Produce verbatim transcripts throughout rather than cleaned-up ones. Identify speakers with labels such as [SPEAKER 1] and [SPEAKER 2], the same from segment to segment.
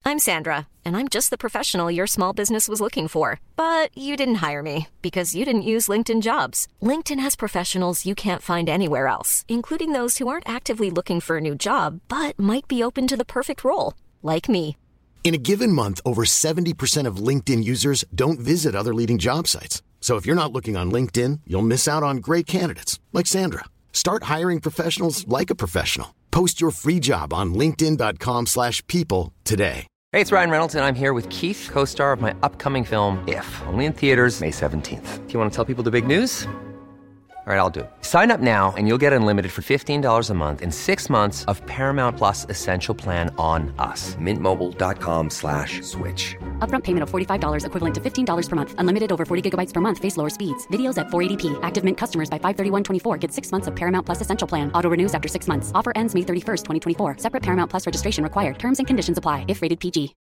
[SPEAKER 1] I'm Sandra, and I'm just the professional your small business was looking for. But you didn't hire me because you didn't use LinkedIn Jobs. LinkedIn has professionals you can't find anywhere else, including those who aren't actively looking for a new job, but might be open to the perfect role, like me.
[SPEAKER 2] In a given month, over seventy percent of LinkedIn users don't visit other leading job sites. So if you're not looking on LinkedIn, you'll miss out on great candidates like Sandra. Start hiring professionals like a professional. Post your free job on linkedin dot com slash people today.
[SPEAKER 3] Hey, it's Ryan Reynolds, and I'm here with Keith, co-star of my upcoming film, If, only in theaters May seventeenth. Do you want to tell people the big news? All right, I'll do it. Sign up now and you'll get unlimited for fifteen dollars a month and six months of Paramount Plus Essential Plan on us. Mint Mobile dot com slash switch.
[SPEAKER 4] Upfront payment of forty-five dollars equivalent to fifteen dollars per month. Unlimited over forty gigabytes per month. Face lower speeds. Videos at four eighty p. Active Mint customers by five thirty-one twenty-four get six months of Paramount Plus Essential Plan. Auto renews after six months. Offer ends May thirty-first, twenty twenty-four. Separate Paramount Plus registration required. Terms and conditions apply if rated P G.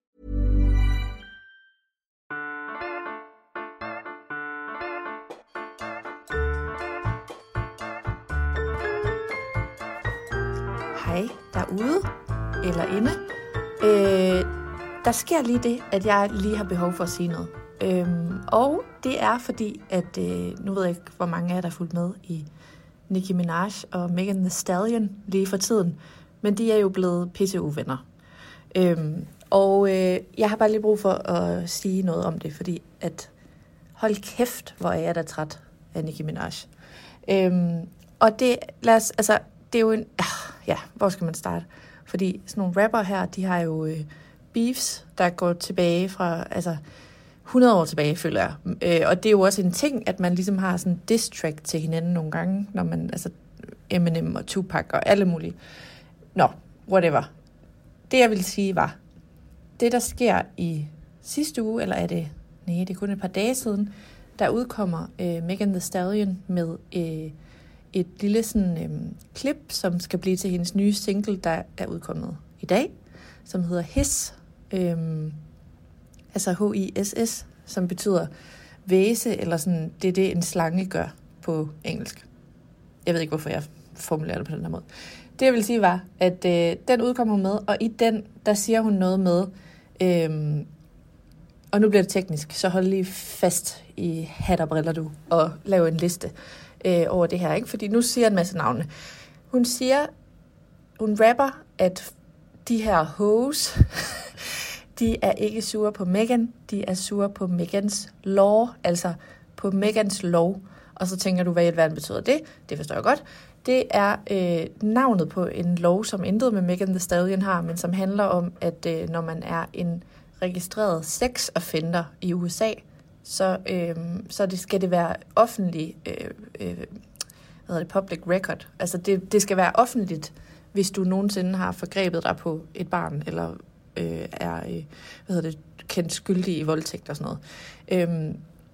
[SPEAKER 5] Hej derude, eller inde. Øh, der sker lige det, at jeg lige har behov for at sige noget. Øhm, og det er fordi, at øh, nu ved jeg ikke, hvor mange af jer, der er fulgt med i Nicki Minaj og Megan Thee Stallion lige for tiden. Men de er jo blevet pisse uvenner. Øhm, og øh, jeg har bare lige brug for at sige noget om det, fordi at hold kæft, hvor er jeg da træt af Nicki Minaj. Øhm, og det, lad os, altså, det er jo en... Ja, hvor skal man starte? Fordi sådan nogle rapper her, de har jo øh, beefs, der går tilbage fra, altså hundrede år tilbage, føler jeg. Øh, og det er jo også en ting, at man ligesom har sådan en diss track til hinanden nogle gange, når man, altså Eminem og Tupac og alle mulige. Nå, whatever. Det jeg vil sige var, det der sker i sidste uge, eller er det, nej, det er kun et par dage siden, der udkommer øh, Megan Thee Stallion med... Øh, et lille sådan øhm, klip, som skal blive til hendes nye single, der er udkommet i dag, som hedder Hiss, øhm, altså H I S S, som betyder væse, eller sådan, det er det, en slange gør på engelsk. Jeg ved ikke, hvorfor jeg formulerer det på den her måde. Det jeg vil sige var, at øh, den udkommer hun med, og i den, der siger hun noget med, øhm, og nu bliver det teknisk, så hold lige fast i hat og briller du, og lav en liste øh, over det her, ikke? Fordi nu siger en masse navne. Hun siger, hun rapper, at de her hoes, de er ikke sure på Megan, de er sure på Megans law, altså på Megans lov. Og så tænker du, hvad i alverden betyder det? Det forstår jeg godt. Det er øh, navnet på en lov, som intet med Megan Thee Stallion har, men som handler om, at øh, når man er en registreret sex offender i U S A, så, øh, så det skal det være offentlig, øh, øh, hvad hedder det, public record. Altså det, det skal være offentligt, hvis du nogensinde har forgrebet dig på et barn, eller øh, er øh, hvad hedder det, kendt skyldig i voldtægt og sådan noget. Øh,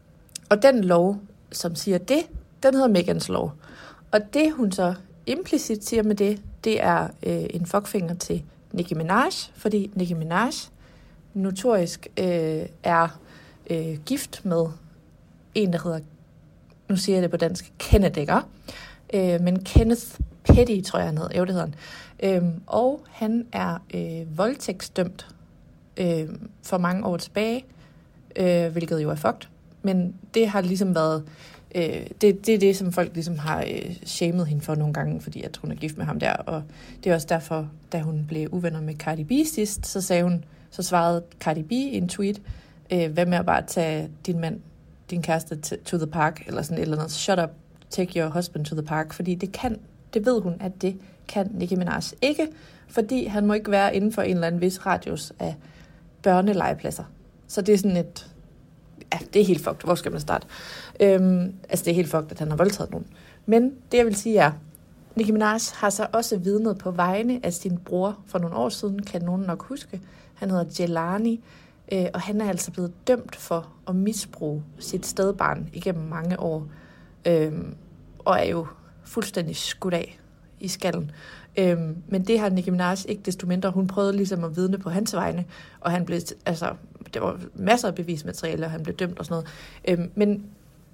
[SPEAKER 5] og den lov, som siger det, den hedder Megans lov. Og det, hun så implicit siger med det, det er øh, en fuckfinger til Nicki Minaj, fordi Nicki Minaj notorisk øh, er øh, gift med en, der hedder, nu siger jeg det på dansk, Kenneth Egger, øh, men Kenneth Petty, tror jeg han hedder, jo det hedder han. Øh, og han er øh, voldtægtsdømt øh, for mange år tilbage, øh, hvilket jo er fucked, men det har ligesom været, øh, det, det er det, som folk ligesom har øh, shamed hende for nogle gange, fordi at hun er gift med ham der, og det er også derfor, da hun blev uvenner med Cardi B sidst, så sagde hun, så svarede Cardi B i en tweet, øh, hvad med at bare tage din mand, din kæreste to the park, eller sådan et eller andet, shut up, take your husband to the park, fordi det kan, det ved hun, at det kan Nicki Minaj ikke, fordi han må ikke være inden for en eller anden vis radius af børnelegepladser. Så det er sådan et, ja, det er helt fucked, hvor skal man starte? Øhm, altså det er helt fucked, at han har voldtaget nogen. Men det jeg vil sige er, Nicki Minaj har så også vidnet på vegne af sin bror for nogle år siden, kan nogen nok huske. Han hedder Jelani, øh, og han er altså blevet dømt for at misbruge sit stedbarn igennem mange år, øh, og er jo fuldstændig skudt af i skallen. Øh, men det har Nicki Minaj ikke desto mindre. Hun prøvede ligesom at vidne på hans vegne, og han blev, altså, der var masser af bevismateriale, og han blev dømt og sådan noget. Øh, men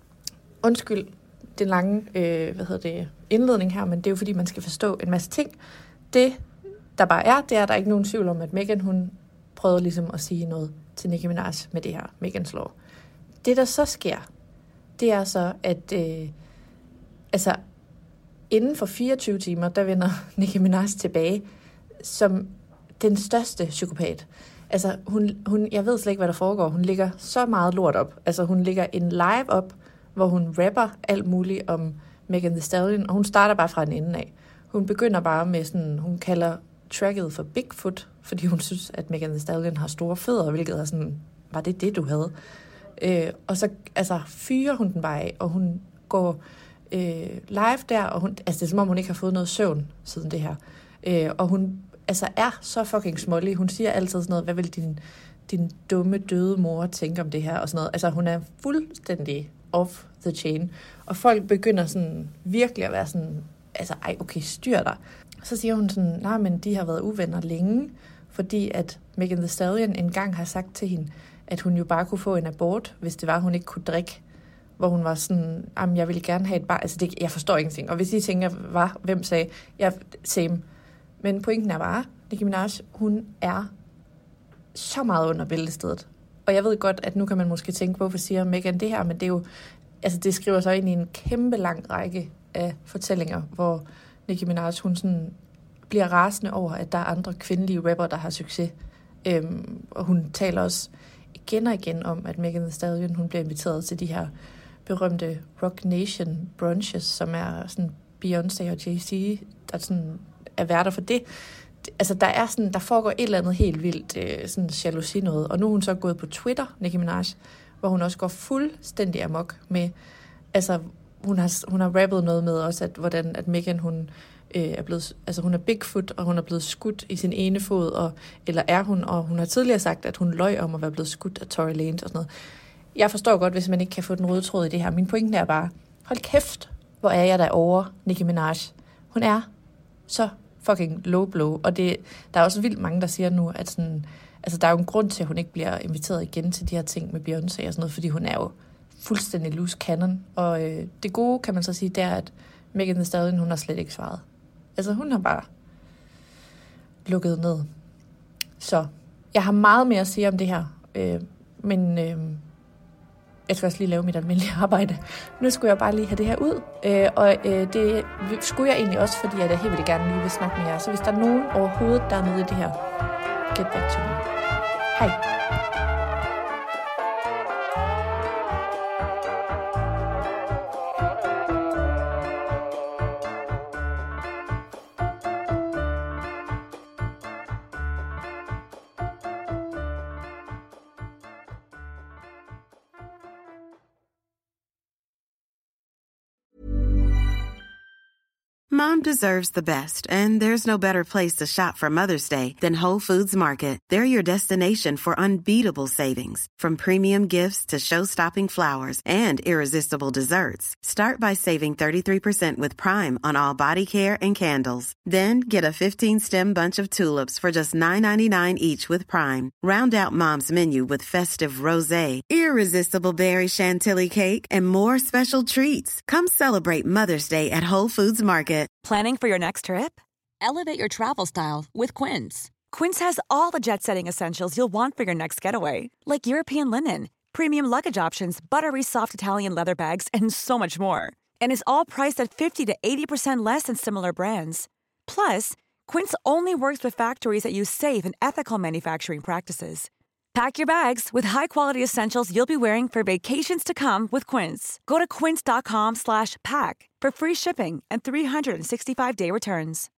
[SPEAKER 5] undskyld den lange øh, hvad hedder det, indledning her, men det er jo fordi, man skal forstå en masse ting. Det, der bare er, det er, der er ikke nogen tvivl om, at Megan, hun prøvede ligesom at sige noget til Nicki Minaj med det her Meghan's Law. Det, der så sker, det er så, at øh, altså, inden for fireogtyve timer, der vender Nicki Minaj tilbage som den største psykopat. Altså, hun, hun, jeg ved slet ikke, hvad der foregår. Hun lægger så meget lort op. Altså, hun lægger en live op, hvor hun rapper alt muligt om Megan Thee Stallion, og hun starter bare fra en ende af. Hun begynder bare med sådan, hun kalder tracket for Bigfoot, fordi hun synes, at Megan Thee Stallion har store fødder, hvilket er sådan, var det det, du havde? Øh, og så altså, fyrer hun den bare af, og hun går øh, live der, og hun, altså det er som om, hun ikke har fået noget søvn siden det her. Øh, og hun altså, er så fucking smålig. Hun siger altid sådan noget, hvad vil din, din dumme, døde mor tænke om det her, og sådan noget. Altså, hun er fuldstændig off the chain. Og folk begynder sådan virkelig at være sådan, altså, ej, okay, styr dig. Så siger hun sådan, nej, men de har været uvenner længe, fordi at Megan Thee Stallion engang har sagt til hende, at hun jo bare kunne få en abort, hvis det var, hun ikke kunne drikke. Hvor hun var sådan, jamen, jeg ville gerne have et barn. Altså, det, jeg forstår ingenting. Og hvis I tænker, hvad, hvem sagde, jeg, same. Men pointen er bare, Nicki Minaj, hun er så meget under bæltestedet. Og jeg ved godt, at nu kan man måske tænke, hvorfor siger Megan det her, men det er jo, altså det skriver sig ind i en kæmpe lang række af fortællinger, hvor Nicki Minaj, hun sådan bliver rasende over, at der er andre kvindelige rapper, der har succes. Øhm, og hun taler også igen og igen om, at Megan Thee Stallion, hun bliver inviteret til de her berømte Rock Nation brunches, som er sådan Beyoncé og Jay-Z, der sådan er værter for det. Altså, der er sådan, der foregår et eller andet helt vildt, øh, sådan jalousi noget. Og nu er hun så gået på Twitter, Nicki Minaj, hvor hun også går fuldstændig amok med, altså, hun har, hun har rappet noget med også, at hvordan, at Megan, hun øh, er blevet, altså hun er Bigfoot, og hun er blevet skudt i sin ene fod, og, eller er hun, og hun har tidligere sagt, at hun løj om at være blevet skudt af Tory Lanez og sådan noget. Jeg forstår godt, hvis man ikke kan få den røde tråd i det her. Min pointe er bare, hold kæft, hvor er jeg derovre, Nicki Minaj. Hun er så fucking low blow, og det, der er også vildt mange, der siger nu, at sådan, altså der er jo en grund til, at hun ikke bliver inviteret igen til de her ting med Beyoncé og sådan noget, fordi hun er jo fuldstændig loose cannon, og øh, det gode, kan man så sige, det er, at Megan Thee Stallion, hun har slet ikke svaret. Altså hun har bare lukket ned. Så jeg har meget mere at sige om det her, øh, men øh, jeg skal også lige lave mit almindelige arbejde. Nu skulle jeg bare lige have det her ud, øh, og øh, det skulle jeg egentlig også, fordi jeg helt vildt gerne lige vil snakke med jer. Så hvis der er nogen overhovedet, der er nede i det her, get back to me. Hej.
[SPEAKER 6] Mom deserves the best, and there's no better place to shop for Mother's Day than Whole Foods Market. They're your destination for unbeatable savings, from premium gifts to show-stopping flowers and irresistible desserts. Start by saving thirty-three percent with Prime on all body care and candles. Then get a fifteen-stem bunch of tulips for just nine ninety-nine each with Prime. Round out Mom's menu with festive rosé, irresistible berry chantilly cake, and more special treats. Come celebrate Mother's Day at Whole Foods Market.
[SPEAKER 7] Planning for your next trip? Elevate your travel style with Quince. Quince has all the jet-setting essentials you'll want for your next getaway, like European linen, premium luggage options, buttery soft Italian leather bags, and so much more. And is all priced at fifty to eighty percent less than similar brands. Plus, Quince only works with factories that use safe and ethical manufacturing practices. Pack your bags with high-quality essentials you'll be wearing for vacations to come with Quince. Go to quince.com slash pack for free shipping and three sixty-five day returns.